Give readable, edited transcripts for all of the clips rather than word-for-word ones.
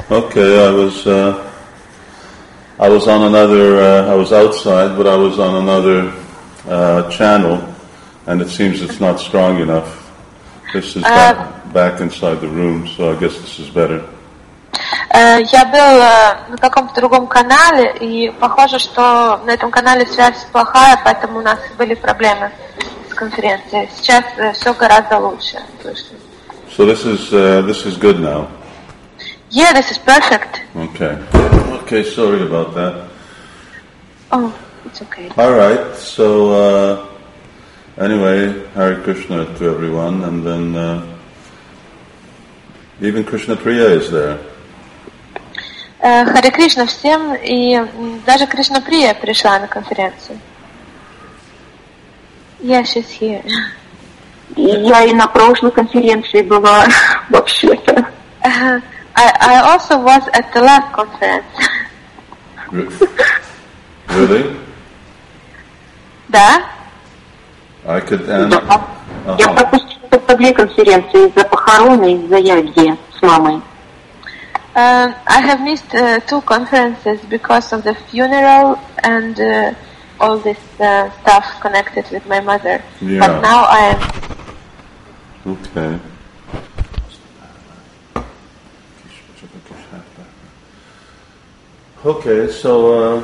Okay, I was on another. I was outside, but I was on another channel, and it seems it's not strong enough. This is back inside the room, so I guess this is better. Я был на каком-то другом канале, и похоже, что на этом канале связь плохая, поэтому у нас были проблемы с конференцией. Сейчас все гораздо лучше. So this is good now. Yeah, this is perfect. Okay, sorry about that. Oh, it's okay. All right, so anyway, Hare Krishna to everyone, and then even Krishna Priya is there. Харе Кришна всем, и даже Кришна Прия пришла на конференцию. Yeah, she's here. Я и на прошлой конференции была, вообще-то. I also was at the last conference. Really? Да? I could Я пропустила по две конференции из-за похорон и из-за ягги с мамой. I have missed 2 conferences because of the funeral and all this stuff connected with my mother. Yeah. But now I am. Okay. Okay, so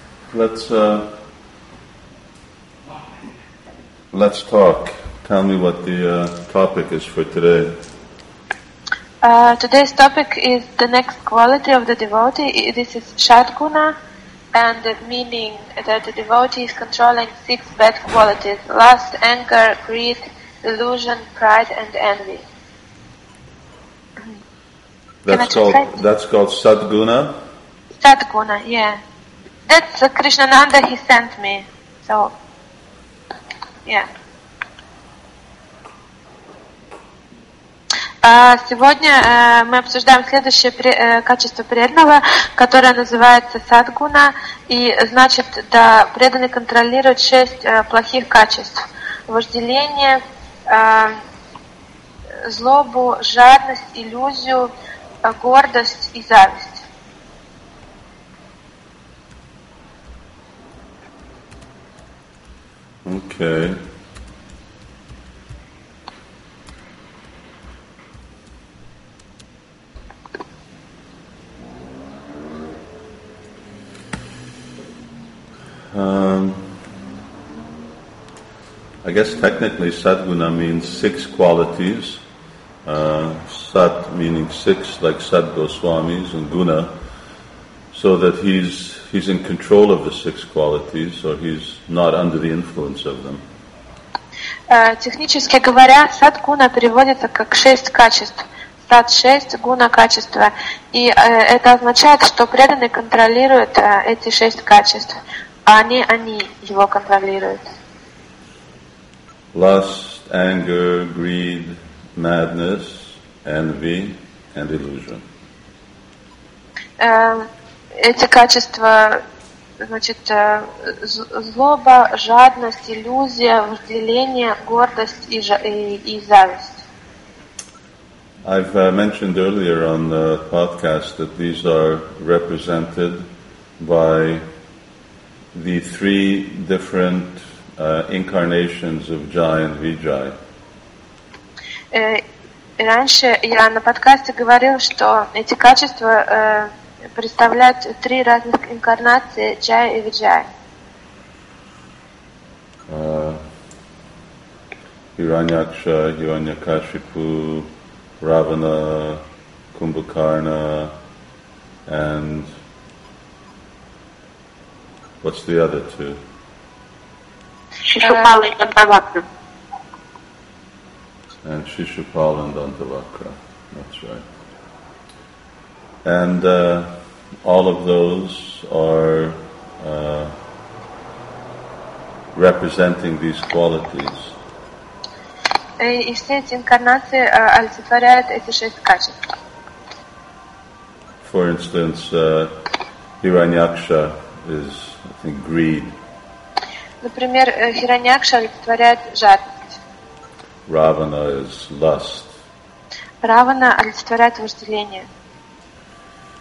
let's talk. Tell me what the topic is for today. Today's topic is the next quality of the devotee. This is Shadguna, and the meaning that the devotee is controlling 6 bad qualities: lust, anger, greed, delusion, pride, and envy. That's called Sadguna. Sadguna, yeah. That's Krishnananda, he sent me. So, yeah. Сегодня мы обсуждаем следующее качество преданного, которое называется садгуна, и значит, да, преданный контролирует 6 плохих качеств: вожделение, злобу, жадность, иллюзию, гордость и зависть. Okay. I guess technically Sadguna means 6 qualities. Sat meaning 6, like Sad Goswamis, and Guna, so that he's in control of the 6 qualities, or he's not under the influence of them. Технически говоря, садгуна переводится как 6 качеств. Сад 6, гуна качества. И это означает, что преданный контролирует эти 6 качеств, а не они его контролируют. Lust, anger, greed, madness, envy, and illusion. Эти качества, значит, злоба, жадность, иллюзия, вожделение, гордость и зависть. I've mentioned earlier on the podcast that these are represented by the 3 different incarnations of Jai and Vijay. Раньше я на подкасте говорил, что эти качества представляют 3 разных инкарнации Джая и Виджая. Hiranyaksha, Hiranyakashipu, Ravana, Kumbhakarna, and what's the other 2? Shishupala и Дантавакра. And Shishupal and Dantavakra, that's right. And all of those are representing these qualities. И все эти инкарнации олицетворяют эти 6 качеств. For instance, Hiranyaksha is, I think, greed. Например, Хираньякша олицетворяет жадность. Ravana is lust. Равана олицетворяет вожделение.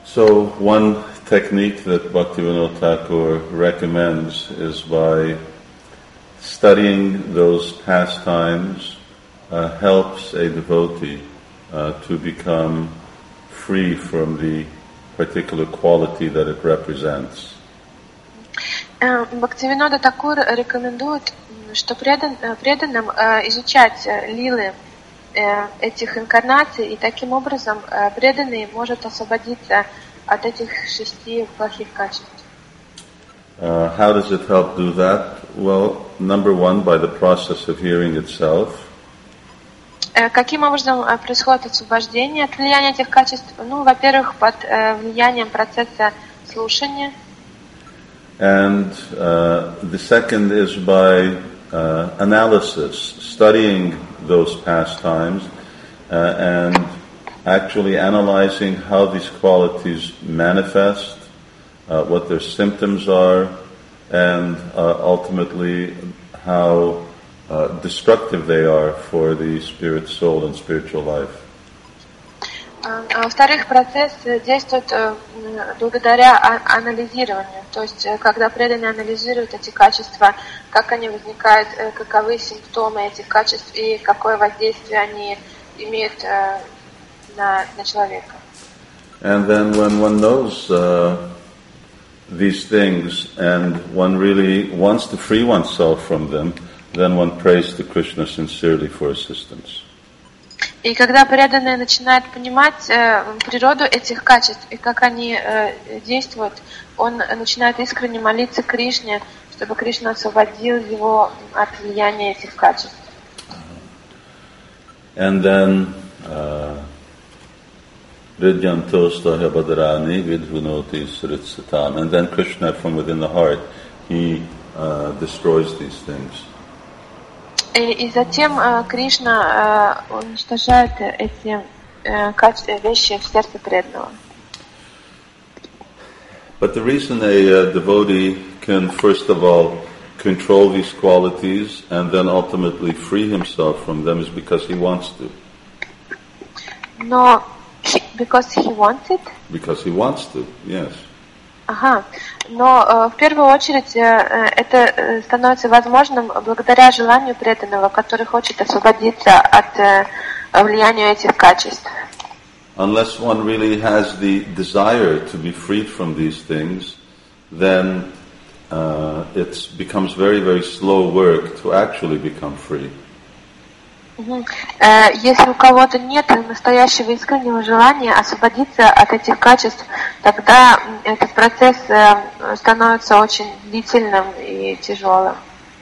So one technique that Bhaktivinoda Thakur recommends is by studying those pastimes helps a devotee to become free from the particular quality that it represents. Бхактивинода Такур рекомендует, что преданным изучать лилы этих инкарнаций, и таким образом преданный может освободиться от этих 6 плохих качеств. How does it help do that? Well, number one, by the process of hearing itself. Каким образом происходит освобождение от влияния этих качеств? Ну, во-первых, под влиянием процесса слушания. And the second is by analysis, studying those pastimes and actually analyzing how these qualities manifest, what their symptoms are, and ultimately how destructive they are for the spirit, soul, and spiritual life. Во-вторых, процесс действует благодаря анализированию. То есть, когда преданные анализируют эти качества, как они возникают, каковы симптомы этих качеств и какое воздействие они имеют на человека. And then when one knows these things and one really wants to free oneself from them, then one prays to Krishna sincerely for assistance. И когда преданные начинают понимать природу этих качеств и как они действуют, он начинает искренне молиться Кришне, чтобы Кришна освободил его от влияния этих качеств. And then Ridyantostahabadarani vidhunoti sritsatam. And then Krishna from within the heart, he destroys these things. И затем Кришна уничтожает эти вещи в сердце преданного. But the reason a devotee can first of all control these qualities and then ultimately free himself from them is because he wants to. Но because he wanted? Because he wants to, yes. Ага. Но в первую очередь это становится возможным благодаря желанию преданного, который хочет освободиться от влияния этих качеств. Unless one really has the desire to be freed from these things, then it becomes very, very slow work to actually become free. Если у кого-то нет настоящего искреннего желания освободиться от этих качеств, тогда этот процесс становится очень длительным и тяжелым.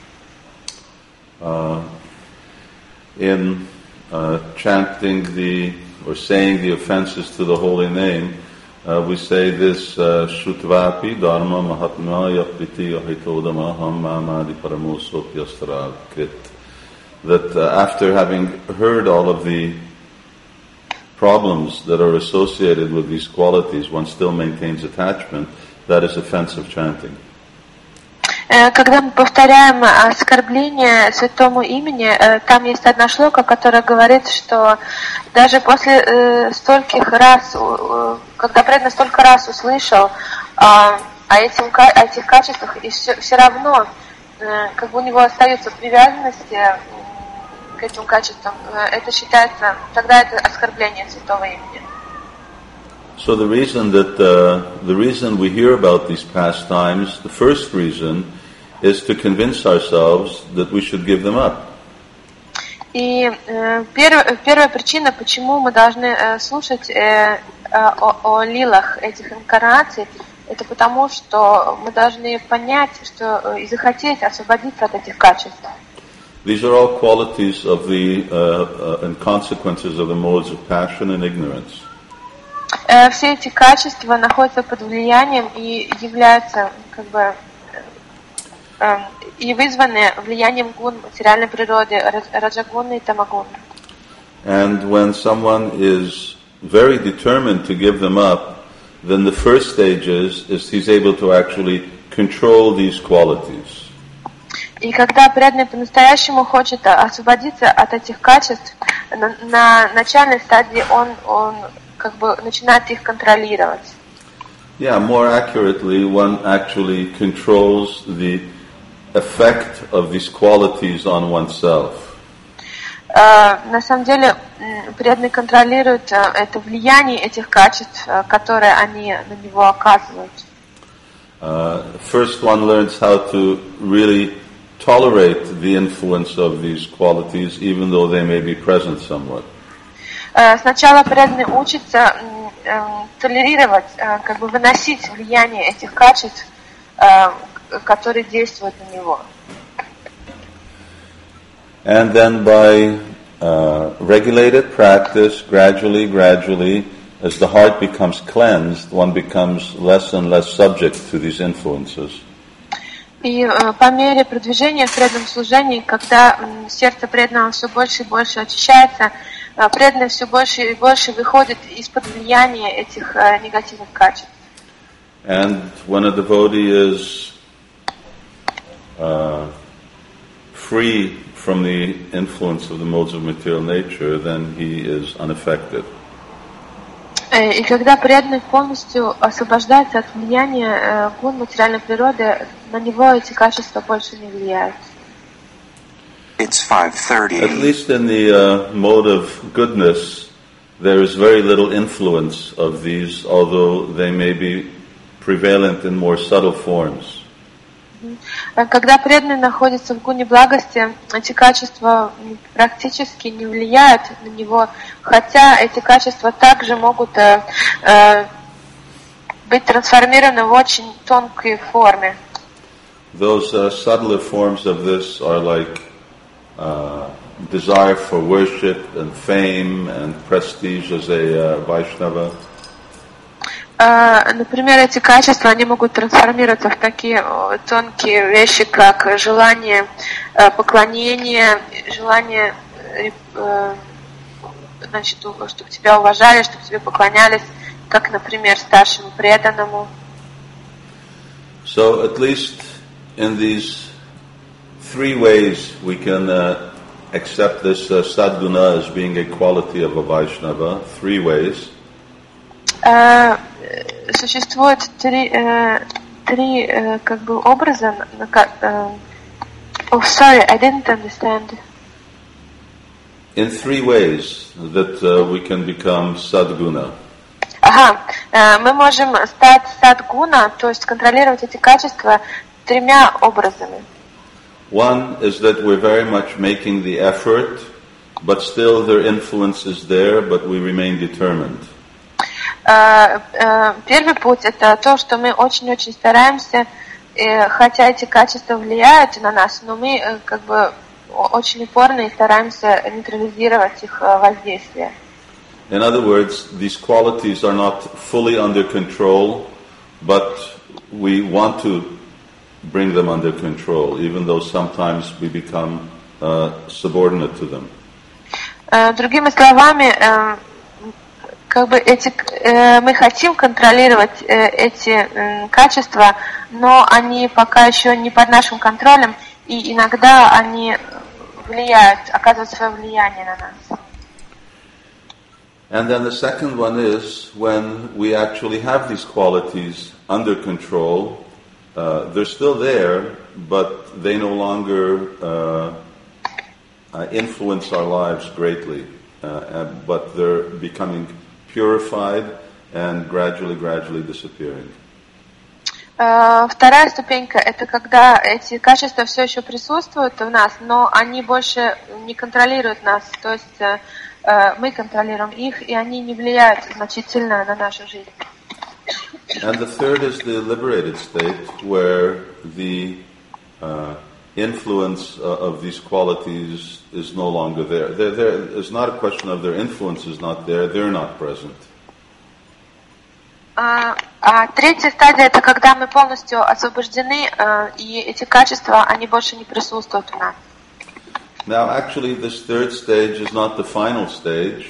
In chanting or saying the offenses to the holy name, we say this Shrutvapi Dharma Mahatma Yapriti Ahitodama Ham Mamadi Paramosopyastara Krit. That after having heard all of the problems that are associated with these qualities, one still maintains attachment. That is offensive chanting. Когда мы повторяем оскорбление святому имени, там есть одна шлока, которая говорит, что даже после стольких раз, когда преданный столько раз услышал о этих качествах, и все равно как бы у него остаются привязанности к этим качествам, это считается, тогда это оскорбление святого имени. So the reason we hear about these pastimes, the first reason is to convince ourselves that we should give them up. И первая причина, почему мы должны слушать о лилах этих инкарнаций, это потому, что мы должны понять, что и захотеть освободиться от этих качеств. These are all qualities of the and consequences of the modes of passion and ignorance. Все эти качества находятся под влиянием и являются как бы и вызваны влиянием гун материальной природы, раджагуны и тамагуны. And when someone is very determined to give them up, then the first stage is he's able to actually control these qualities. И когда преданный по-настоящему хочет освободиться от этих качеств, на начальной стадии он как бы начинает их контролировать. Yeah, more accurately, one actually controls the effect of these qualities on oneself. На самом деле, преданный контролирует это влияние этих качеств, которые они на него оказывают. First one learns how to really tolerate the influence of these qualities, even though they may be present somewhat. Сначала преданный учится толерировать, как бы выносить влияние этих качеств, которые действуют на него. And then by regulated practice, gradually, as the heart becomes cleansed, one becomes less and less subject to these influences. И по мере продвижения в преданном служении, когда сердце преданного все больше и больше очищается, преданный все больше и больше выходит из-под влияния этих негативных качеств. And when a devotee is free from the influence of the modes of material nature, then he is unaffected. И когда преданный полностью освобождается от влияния гун материальной природы, на него эти качества больше не влияют. It's 5:30. At least in the mode of goodness, there is very little influence of these, although they may be prevalent in more subtle forms. Когда преданный находится в гуне благости, эти качества практически не влияют на него, хотя эти качества также могут быть трансформированы в очень тонкой форме. Those subtler forms of this are like desire for worship and fame and prestige as a Vaishnava. Например, эти качества, они могут трансформироваться в такие тонкие вещи, как желание поклонения, желание, значит, чтобы тебя уважали, чтобы тебе поклонялись, как, например, старшему преданному. So at least in these three ways we can accept this sadguna as being a quality of a Vaishnava. Three ways. Существует три как бы образа. Oh, sorry, I didn't understand. In three ways that we can become sadguna. Мы можем стать садгуна, то есть контролировать эти качества тремя образами. One is that we're very much making the effort, but still their influence is there, but we remain determined. Первый путь – это то, что мы очень-очень стараемся, хотя эти качества влияют на нас, но мы как бы очень упорно и стараемся нейтрализировать их воздействие. In other words, these qualities are not fully under control, but we want to bring them under control, even though sometimes we become subordinate to them. Другими словами, как бы мы хотим контролировать эти качества, но они пока еще не под нашим контролем, и иногда они влияют, оказывают свое влияние на нас. And then the second one is when we actually have these qualities under control, they're still there, but they no longer influence our lives greatly, but they're becoming purified and gradually disappearing. Вторая ступенька – это когда эти качества все еще присутствуют в нас, но они больше не контролируют нас, то есть мы контролируем их, и они не влияют значительно на нашу жизнь. And the third is the liberated state, where the influence of these qualities is no longer there. It's not a question of their influence is not there, they're not present. Третья стадия – это когда мы полностью освобождены, и эти качества, они больше не присутствуют в нас. Now, actually, this third stage is not the final stage,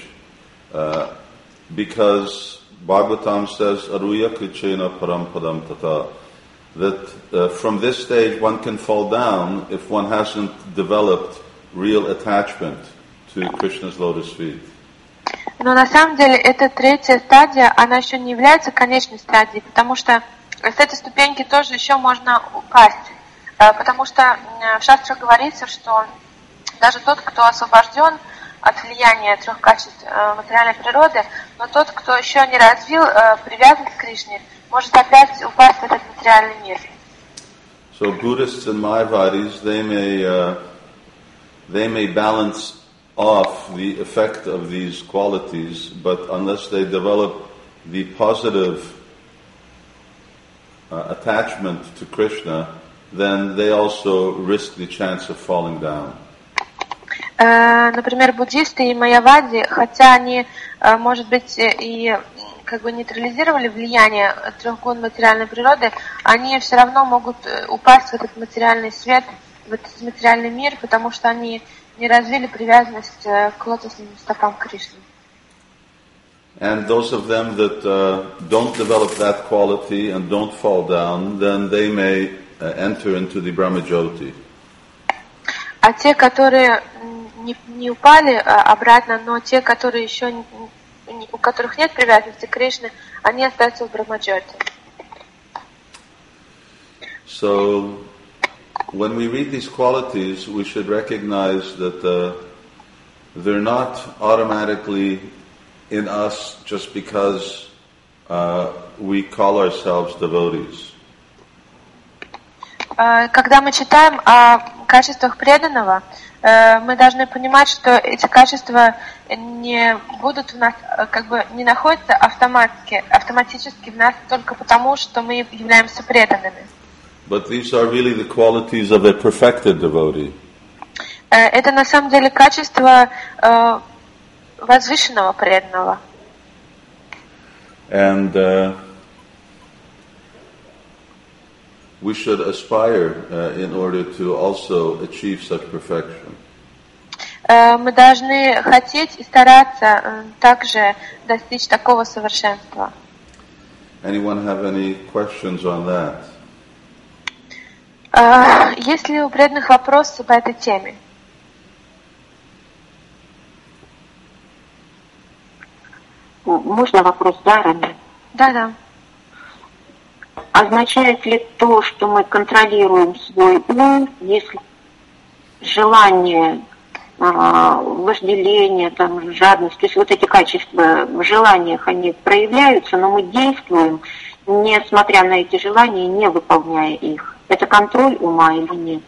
because Bhagavatam says, Aruya krichena parampadam tata, that from this stage one can fall down if one hasn't developed real attachment to Krishna's lotus feet. Но на самом деле эта третья стадия, она еще не является конечной стадией, потому что с этой ступеньки тоже еще можно упасть. Потому что в шастрах говорится, что даже тот, кто освобожден от влияния трех качеств материальной природы, но тот, кто еще не развил привязанность к Кришне, может опять упасть в этот материальный мир. So Buddhists and Mayavadis, they may balance off the effect of these qualities, but unless they develop the positive attachment to Krishna, then they also risk the chance of falling down. Например, буддисты и майявади, хотя они, может быть, и как бы нейтрализировали влияние трех гун материальной природы, они все равно могут упасть в этот материальный свет, в этот материальный мир, потому что они не развили привязанность к лотосным стопам Кришны. And those of them that don't develop that quality and don't fall down, then they may enter into the Brahmajyoti. А те, которые не упали обратно, но те, которые еще у которых нет привязанности к Кришне, они остаются в Брахмаджоти. So, when we read these qualities, we should recognize that they're not automatically in us just because we call ourselves devotees. Когда мы читаем о качествах преданного, мы должны понимать, что эти качества не будут в нас, как бы не находятся автоматически в нас только потому, что мы являемся преданными. But these are really the qualities of a perfected devotee. Это на самом деле качество возвышенного преданного. And we should aspire in order to also achieve such perfection. Мы должны хотеть и стараться также достичь такого совершенства. Anyone have any questions on that? Есть ли у преданных вопросы по этой теме? Можно вопрос, да, Рами? Да. Означает ли то, что мы контролируем свой ум, если желание, вожделение, там, жадность, то есть вот эти качества в желаниях, они проявляются, но мы действуем, несмотря на эти желания, не выполняя их. Это контроль ума или нет?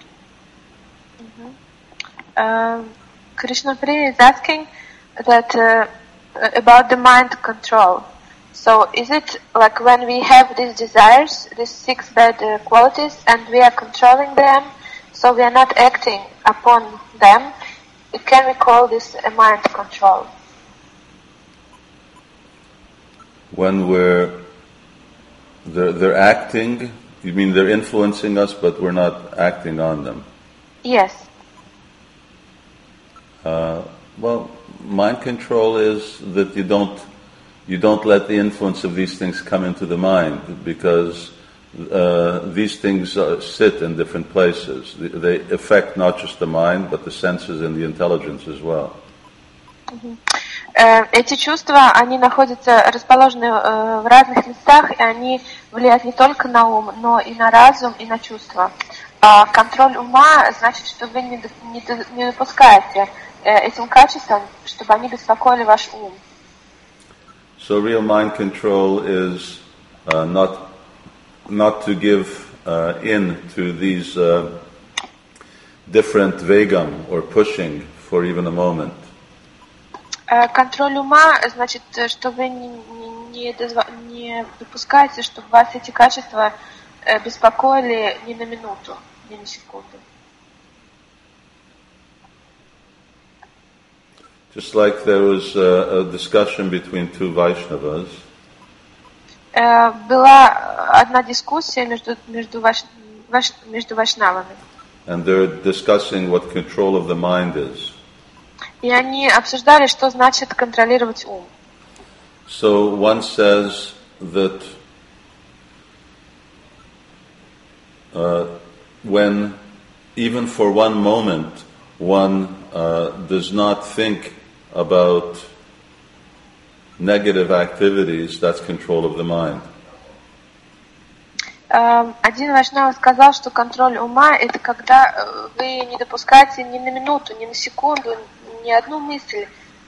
Krishna Priya is asking that about the mind control. So is it like when we have these desires, these 6 bad qualities, and we are controlling them, so we are not acting upon them, can we call this a mind control? When they're acting, you mean they're influencing us, but we're not acting on them? Yes. Well, mind control is that you don't let the influence of these things come into the mind, because these things sit in different places. They affect not just the mind, but the senses and the intelligence as well. Эти чувства, они находятся, расположены в разных местах, и они влияют не только на ум, но и на разум, и на чувства. А контроль ума значит, что вы не допускаете этим качествам, чтобы они беспокоили ваш ум. So real mind control is not to give in to these different vegam or pushing for even a moment. Контроль ума значит, что вы не допускаете, чтобы вас эти качества беспокоили ни на минуту, ни на секунду. Just like there was a discussion between 2 Vaishnavas. Была одна дискуссия между вайшнавами. And they're discussing what control of the mind is. И они обсуждали, что значит контролировать ум. So one says that when even for one moment one does not think about negative activities, that's control of the mind. Один Вайшнава сказал, что контроль ума – это когда вы не допускаете ни на минуту, ни на секунду, ни одну мысль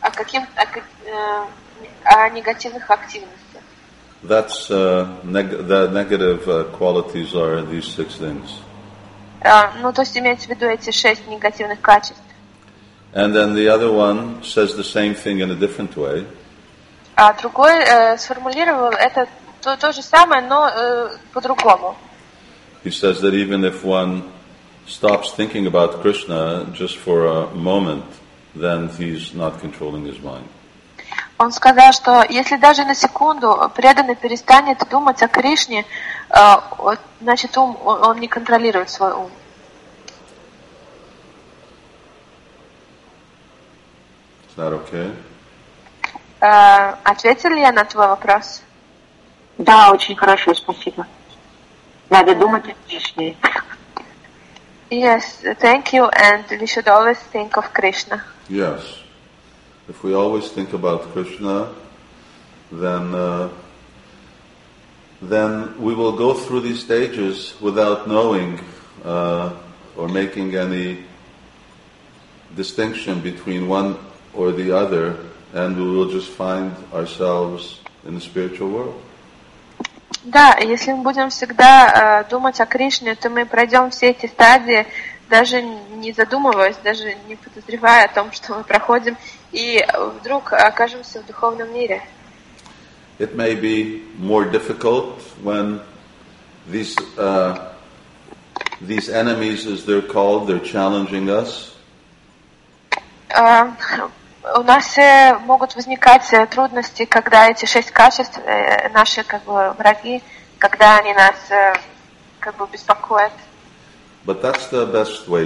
о негативных активностях. That's the negative qualities are these 6 things. Ну, то есть имеется в виду эти 6 негативных качеств. And then the other one says the same thing in a different way. А другой сформулировал это то же самое, но по-другому. He says that even if one stops thinking about Krishna just for a moment, then he's not controlling his mind. Он сказал, что если даже на секунду преданный перестанет думать о Кришне, значит он не контролирует свой ум. Is that okay? Ответил ли я на твой вопрос? Да, очень хорошо, спасибо. Надо думать о Кришне. Yes, thank you, and we should always think of Krishna. Yes. If we always think about Krishna, then we will go through these stages without knowing or making any distinction between one or the other, and we will just find ourselves in the spiritual world. Да, если мы будем всегда думать о Кришне, то мы пройдем все эти стадии, даже не задумываясь, даже не подозревая о том, что мы проходим, и вдруг окажемся в духовном мире. It may be more difficult when these enemies, as they're called, they're challenging us. У нас могут возникать трудности, когда эти 6 качеств, наши враги, когда они нас беспокоят. But that's the best way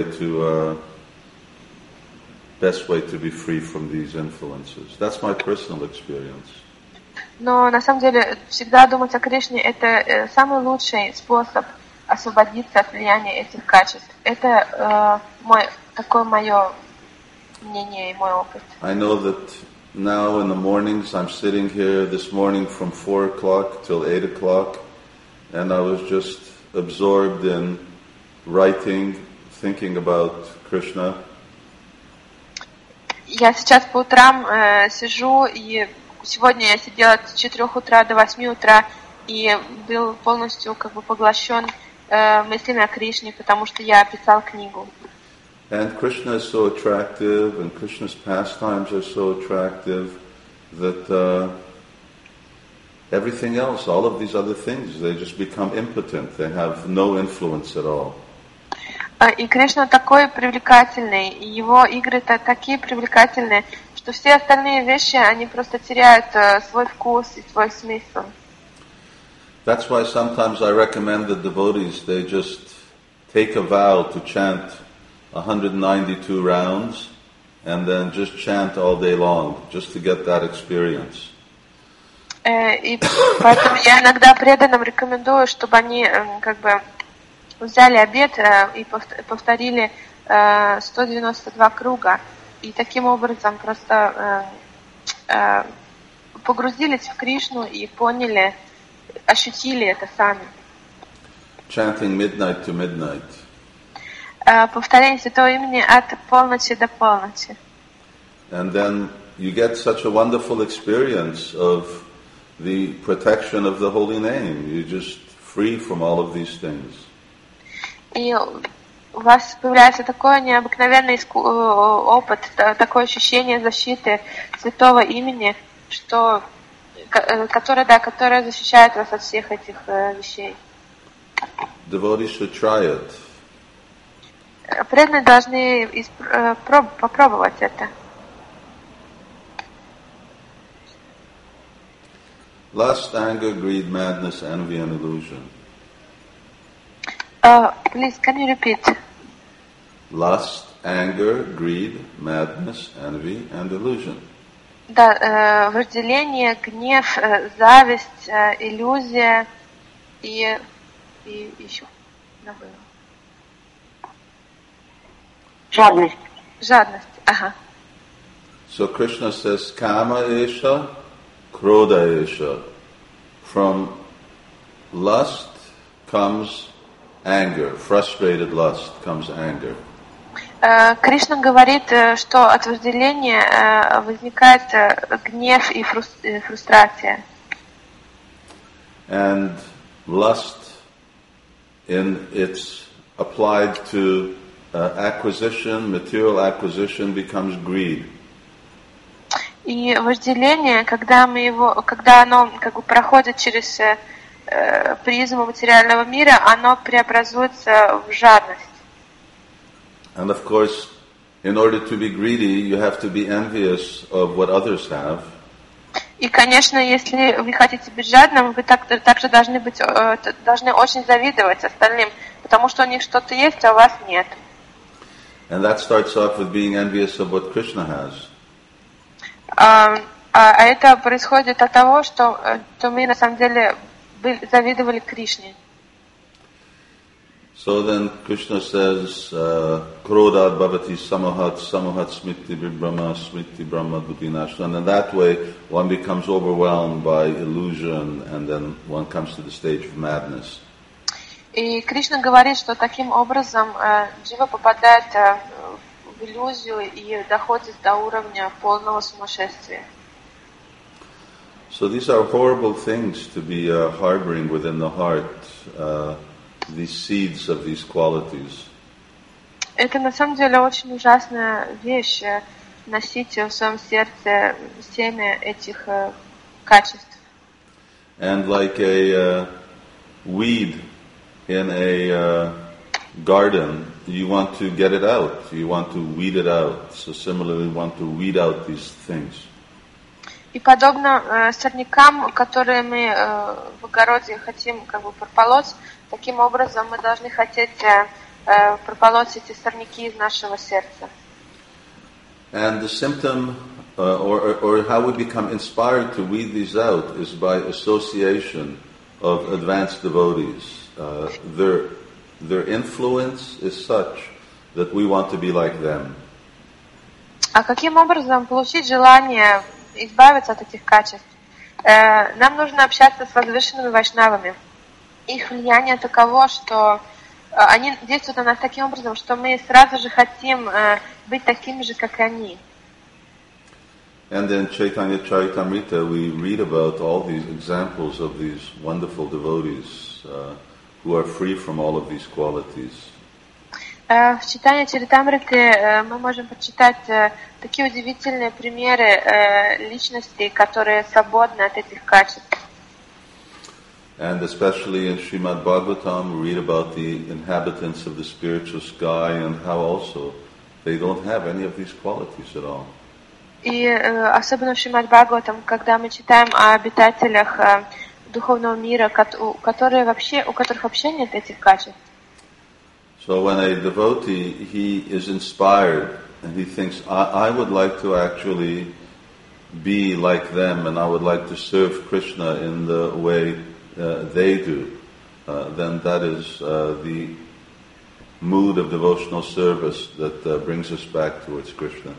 to be free from these influences. That's my personal experience. Но на самом деле всегда думать о Кришне – это самый лучший способ освободиться от влияния этих качеств. Это мое мнение и мой опыт. I know that now in the mornings I'm sitting here this morning from 4 o'clock till 8 o'clock, and I was just absorbed in writing, thinking about Krishna. Я сейчас по утрам сижу, и сегодня я сидела с 4 утра до 8 утра и был полностью поглощен мыслями о Кришне, потому что я писал книгу. And Krishna is so attractive, and Krishna's pastimes are so attractive that everything else, all of these other things, they just become impotent. They have no influence at all. И Кришна такой привлекательный, и его игры-то такие привлекательные, что все остальные вещи, они просто теряют свой вкус и свой смысл. That's why sometimes I recommend the devotees, they just take a vow to chant 192 rounds and then just chant all day long, just to get that experience. И поэтому я иногда преданным рекомендую, чтобы они взяли обет и повторили 192 круга, и таким образом просто погрузились в Кришну и поняли, ощутили это сами. Chanting midnight to midnight. Повторение святого имени от полночи до полночи. And then you get such a wonderful experience of the protection of the holy name. You're just free from all of these things. И у вас появляется такой необыкновенный опыт, такое ощущение защиты святого имени, которое защищает вас от всех этих вещей. Devotees should try it. Преданные должны попробовать это. Lust, anger, greed, madness, envy, and illusion. Please, can you repeat? Lust, anger, greed, madness, envy, and illusion. Да, вожделение, гнев, зависть, иллюзия и еще забыла. Жадность. Жадность, ага. So Krishna says, Kama esha, krodayesha. From lust comes anger. Frustrated lust comes anger. Кришна говорит, что от вожделения возникает гнев и фрустрация. And lust, in its applied to acquisition, material acquisition, becomes greed. И вожделение, когда оно как бы проходит через призму материального мира, оно преобразуется в жадность. And of course, in order to be greedy, you have to be envious of what others have. И, конечно, если вы хотите быть жадным, вы также должны очень завидовать остальным, потому что у них что-то есть, а у вас нет. And that starts off with being envious of what Krishna has. А это происходит от того, что мы на самом деле завидовали Кришне. So then Krishna says, Krodad bhavati samahat smriti brahma buddhinash. And in that way, one becomes overwhelmed by illusion, and then one comes to the stage of madness. И Кришна говорит, что таким образом джива попадает в иллюзию и доходит до уровня полного сумасшествия. So these are horrible things to be harboring within the heart. These seeds of these qualities. Это на самом деле очень ужасная вещь, носить в своем сердце семя этих качеств. And like a weed in a garden, you want to get it out. You want to weed it out. So similarly, you want to weed out these things. И подобно сорнякам, которые мы в огороде хотим как бы прополоть, таким образом мы должны хотеть прополоть эти сорняки из нашего сердца. And the symptom, or how we become inspired to weed these out, is by association of advanced devotees. Their influence is such that we want to be like them. А каким образом получить желание избавиться от этих качеств? Нам нужно общаться с возвышенными вайшнавами. Их влияние таково, что они действуют на нас таким образом, что мы сразу же хотим быть такими же, как и они. And in Chaitanya Charitamrita we read about all these examples of these wonderful devotees who are free from all of these qualities. В Чайтанья Чаритамрите мы можем прочитать такие удивительные примеры личностей, которые свободны от этих качеств. And especially in Srimad Bhagavatam, we read about the inhabitants of the spiritual sky and how also they don't have any of these qualities at all. И особенно в Шримад Бхагаватам, когда мы читаем о обитателях духовного мира, у которых вообще нет этих качеств. So when a devotee, he is inspired and he thinks, I would like to actually be like them and I would like to serve Krishna in the way they do, then that is the mood of devotional service that brings us back towards Krishna.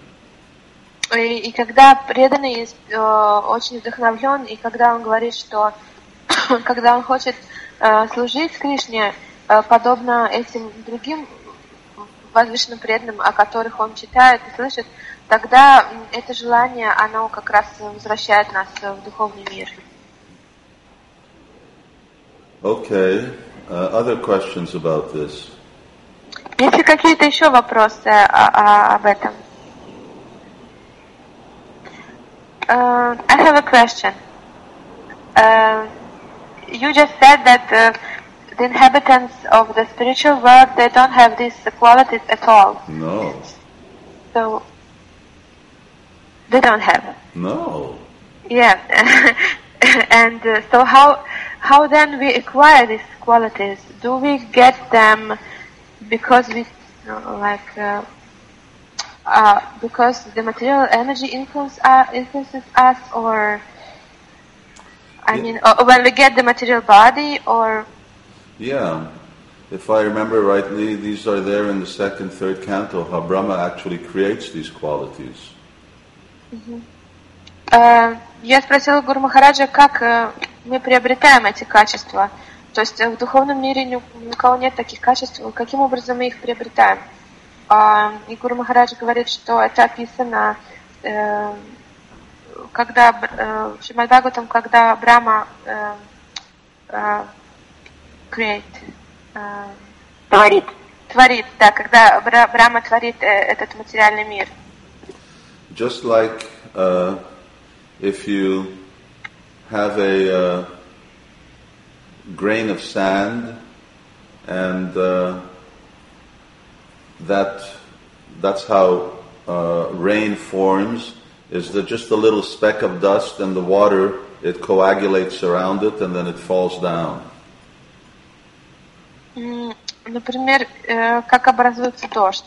И когда преданный очень вдохновлен, и когда он говорит, что когда он хочет служить Кришне, подобно этим другим возвышенным преданным, о которых он читает и слышит, тогда это желание, оно как раз возвращает нас в духовный мир. Okay, other questions about this? Есть ли какие-то еще вопросы об этом? I have a question. You just said that the inhabitants of the spiritual world, they don't have these qualities at all. No. So, they don't have it. No. Yeah. And so how then we acquire these qualities? Do we get them because we because the material energy influences us, or when we get the material body, or? Yeah, if I remember rightly, these are there in the second, third canto, how Brahma actually creates these qualities. Mm-hmm. Я спросила Гуру Махараджа, как мы приобретаем эти качества. То есть в духовном мире ни у кого нет таких качеств, каким образом мы их приобретаем. И Гуру Махарадж говорит, что это описано, когда в Шримад Бхагаватам, когда Брахма творит, да, когда Брахма творит этот материальный мир. Just like if you have a grain of sand and that's how rain forms, is that just a little speck of dust and the water, it coagulates around it and then it falls down. Например, как образуется дождь.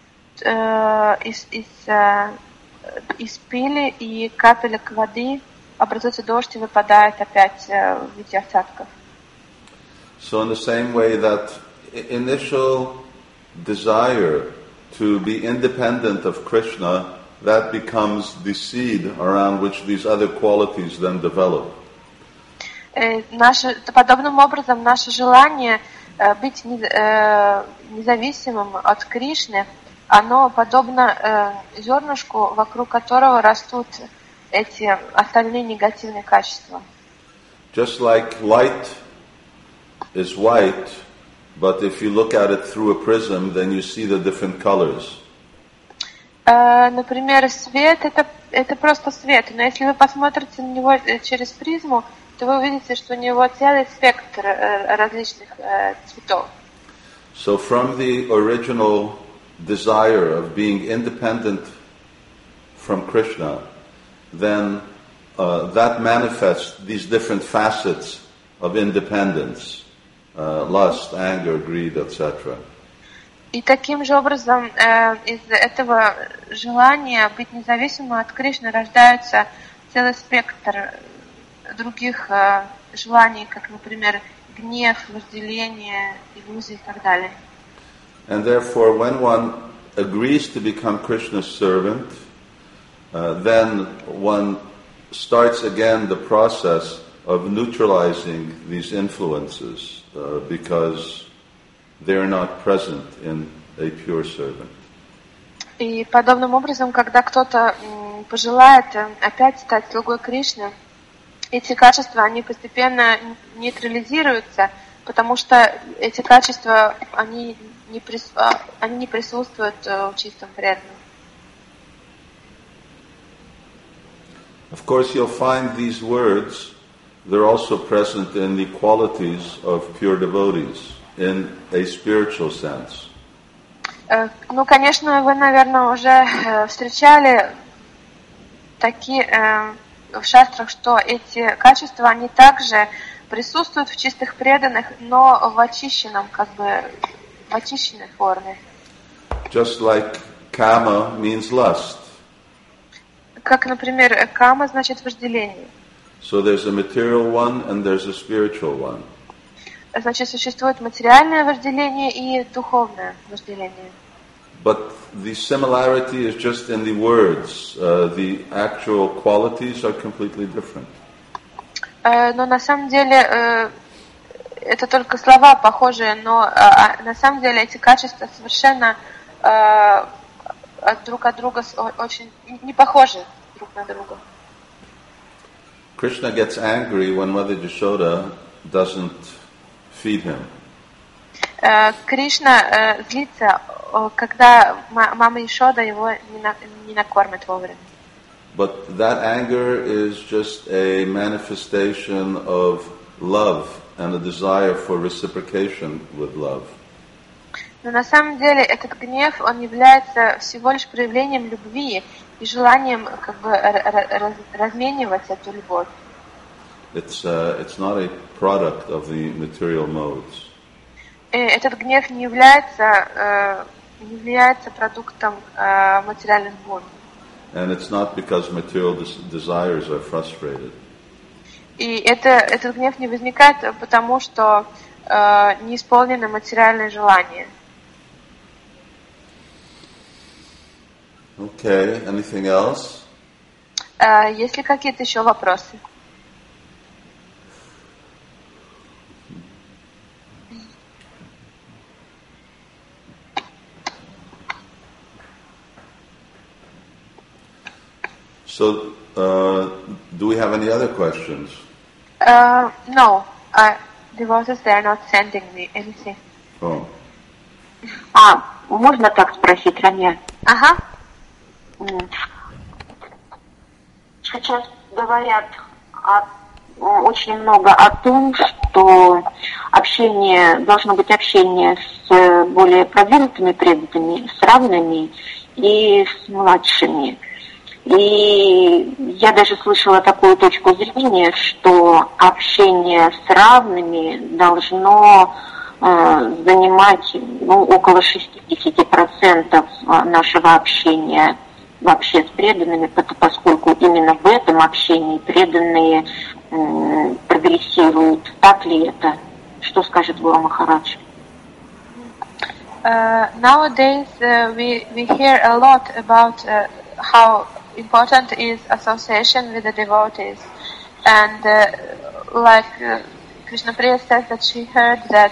Из пыли и капелек воды образуется дождь и выпадает опять в виде осадков. So in the same way that initial desire to be independent of Krishna, that becomes the seed around which these other qualities then develop. Подобным образом наше желание быть независимым от Кришны, оно подобно зернышку, вокруг которого растут эти остальные негативные качества. Just like light is white, but if you look at it through a prism, then you see the different colors. Например, свет это просто свет, но если вы посмотрите на него через призму, то вы увидите, что у него целый спектр различных цветов. So from the original desire of being independent from Krishna, then that manifests these different facets of independence, lust, anger, greed, etc. И таким же образом из этого желания быть независимым от Кришны рождается целый спектр других желаний, как, например, гнев, вожделение, иллюзии и так далее. And therefore, when one agrees to become Krishna's servant, then one starts again the process of neutralizing these influences because they're not present in a pure servant. И подобным образом, когда кто-то пожелает опять стать слугой Кришны, эти качества, они постепенно нейтрализируются, потому что эти качества, они не присутствуют в чистом преданном. Of course, you'll find these words, they're also present in the qualities of pure devotees, in a spiritual sense. Ну, конечно, вы, наверное, уже встречали такие в шастрах, что эти качества, они также присутствуют в чистых преданных, но в очищенном, в очищенной форме. Just like kama means lust. Как, например, кама значит вожделение. So there's a material one and there's a spiritual one. Значит, существует материальное вожделение и духовное вожделение. But the similarity is just in the words. The actual qualities are completely different. Но на самом деле это только слова похожие, но на самом деле эти качества совершенно друг от друга очень не похожи друг на друга. Krishna gets angry when Mother Yashoda doesn't feed him. Кришна злится, когда мама Йашода его не накормит вовремя. But that anger is just a manifestation of love and a desire for reciprocation with love. Но на самом деле этот гнев, он является всего лишь проявлением любви и желанием разменивать эту любовь. It's not a product of the material modes. Этот гнев не является продуктом материальных гон. And it's not because material desires are frustrated. И этот гнев не возникает потому, что не исполнено материальное желание. Okay, anything else? Есть ли какие-то еще вопросы? So, do we have any other questions? No, devotees, they are not sending me anything. Oh. Можно так спросить, Рамья? Ага. Сейчас говорят очень много о том, что должно быть общение с более продвинутыми преданными, с равными и с младшими. И я даже слышала такую точку зрения, что общение с равными должно занимать около 60% нашего общения вообще с преданными, поскольку именно в этом общении преданные прогрессируют. Так ли это? Что скажет Гуру Махарадж? Nowadays we hear a lot about how important is association with the devotees, and like Krishna Priya says that she heard that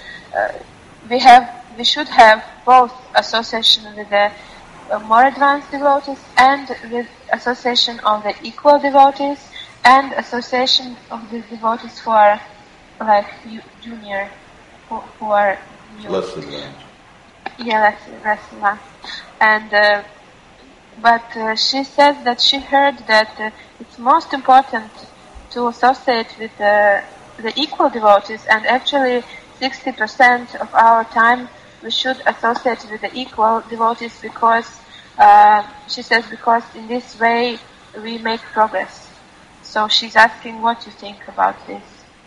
we should have both association with the more advanced devotees and with association of the equal devotees and association of the devotees who are like junior, who are new. Less advanced. Yeah, less advanced. And but she says that she heard that it's most important to associate with the equal devotees, and actually 60% of our time we should associate with the equal devotees because she says because in this way we make progress. So she's asking what you think about this.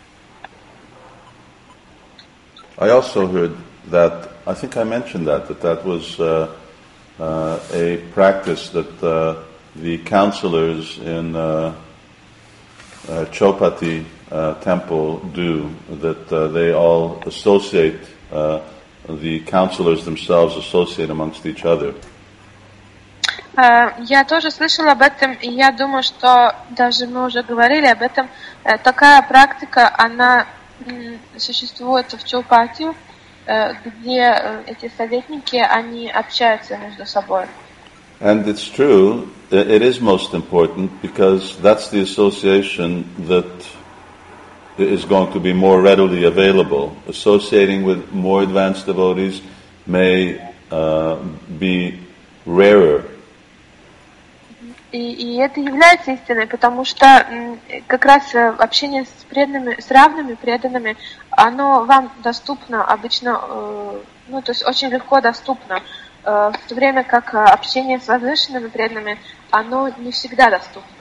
I also heard that, I think I mentioned that was a practice that the counselors in Chopati temple do, that they all associate, the counselors themselves associate amongst each other. Я тоже слышала об этом, и я думаю, что даже мы уже говорили об этом. Такая практика, она существует в Чаупати, где эти советники, они общаются между собой. And it's true, it is most important because that's the association that is going to be more readily available. Associating with more advanced devotees may be rarer. И это является истиной, потому что как раз общение с преданными, с равными преданными, оно вам доступно обычно, то есть очень легко доступно, в то время как общение с возвышенными преданными, оно не всегда доступно.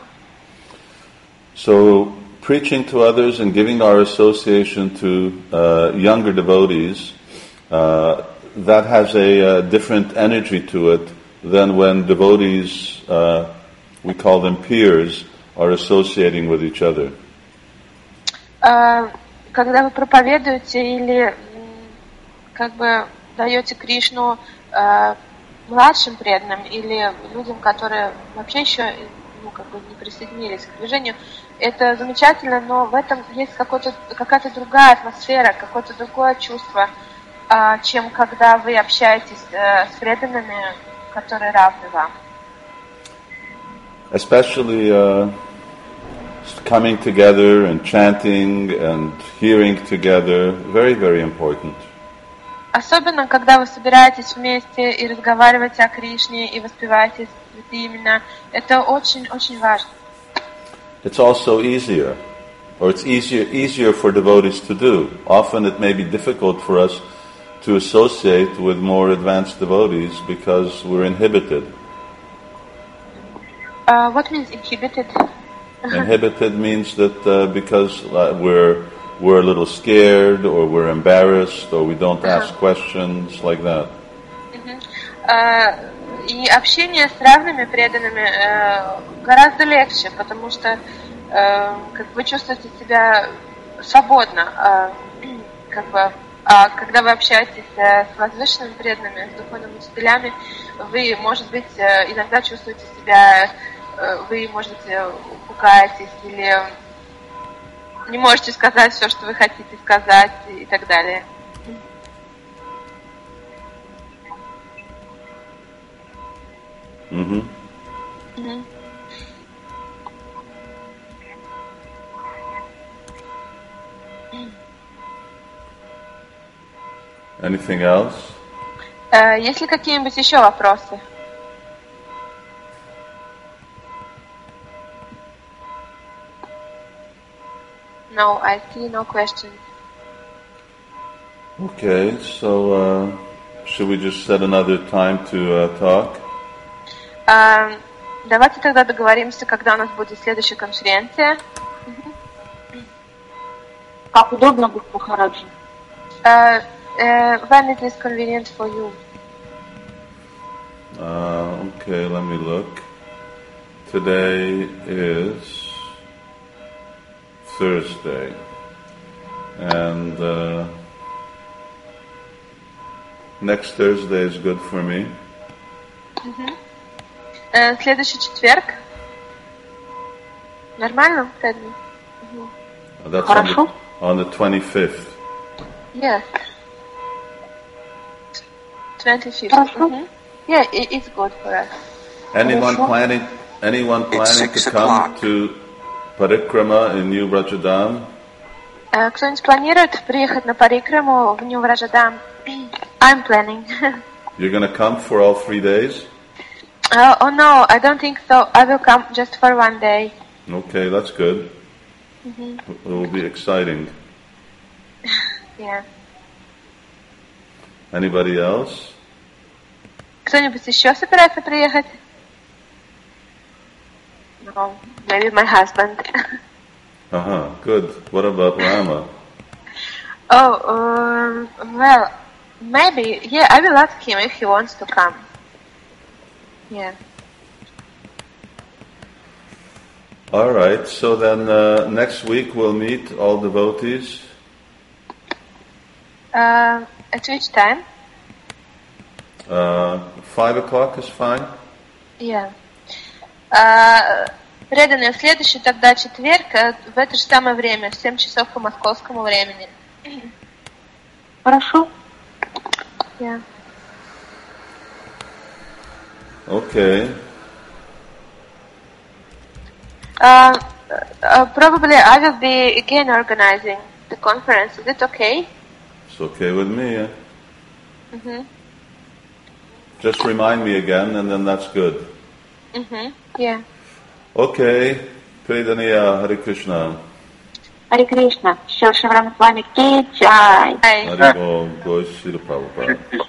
So, preaching to others and giving our association to younger devotees, that has a different energy to it than when devotees, we call them peers, are associating with each other. Когда вы проповедуете или как бы даете Кришну младшим преданным или людям, которые вообще еще не присоединились к движению, это замечательно, но в этом есть какая-то другая атмосфера, какое-то другое чувство, чем когда вы общаетесь с преданными, которые равны вам. Especially coming together and chanting and hearing together, very, very important. Особенно, когда вы собираетесь вместе и разговариваете о Кришне и воспеваете святые имена, это очень-очень важно. It's also easier, or it's easier for devotees to do. Often it may be difficult for us to associate with more advanced devotees because we're inhibited. What means inhibited? Inhibited means that because we're a little scared, or we're embarrassed, or we don't ask questions, like that. И общение с равными преданными гораздо легче, потому что вы чувствуете себя свободно, когда вы общаетесь с возвышенными преданными, с духовными учителями, вы, может быть, иногда чувствуете себя вы, может быть, пугаетесь или не можете сказать все, что вы хотите сказать и так далее. Mm-hmm. Mm-hmm. Anything else? Есть ли какие-нибудь еще вопросы? No, I see no questions. Okay, so should we just set another time to talk? Давайте тогда договоримся, когда у нас будет следующая конференция. Как удобно, Гуру Махараджи. When it is convenient for you. Okay, let me look. Today is Thursday, and next Thursday is good for me. Следующий четверг. Нормально, Фредди? That's Хорошо. on the 25th. Yes. 25th. Хорошо. Yeah, it's good for us. Anyone Хорошо. planning It's to 6 come o'clock. to Parikrama in New Vrajadam? Кто-нибудь планирует приехать на Парикраму в Нью-Враджадам? I'm planning. You're going to come for all 3 days? Oh no, I don't think so. I will come just for one day. Okay, that's good. It will be exciting. Yeah. Anybody else? Кто-нибудь еще собирается приехать? No, maybe my husband. Good. What about Rama? Oh, well, maybe. Yeah, I will ask him if he wants to come. Yeah. All right, so then next week we'll meet all devotees. At which time? 5 o'clock is fine. Yeah. Преданные, в следующий тогда четверг в это же самое время, в 7 часов по московскому времени. Хорошо. Yeah. Okay. Probably I will be again organizing the conference. Is it okay? It's okay with me. Yeah? Just remind me again, and then that's good. Yeah. Okay. Predaniya, Hare Krishna. Харе Кришна. Шил Шиврам с вами. Ки чай. Bye. Hare Bol, Goy Srila Prabhupada.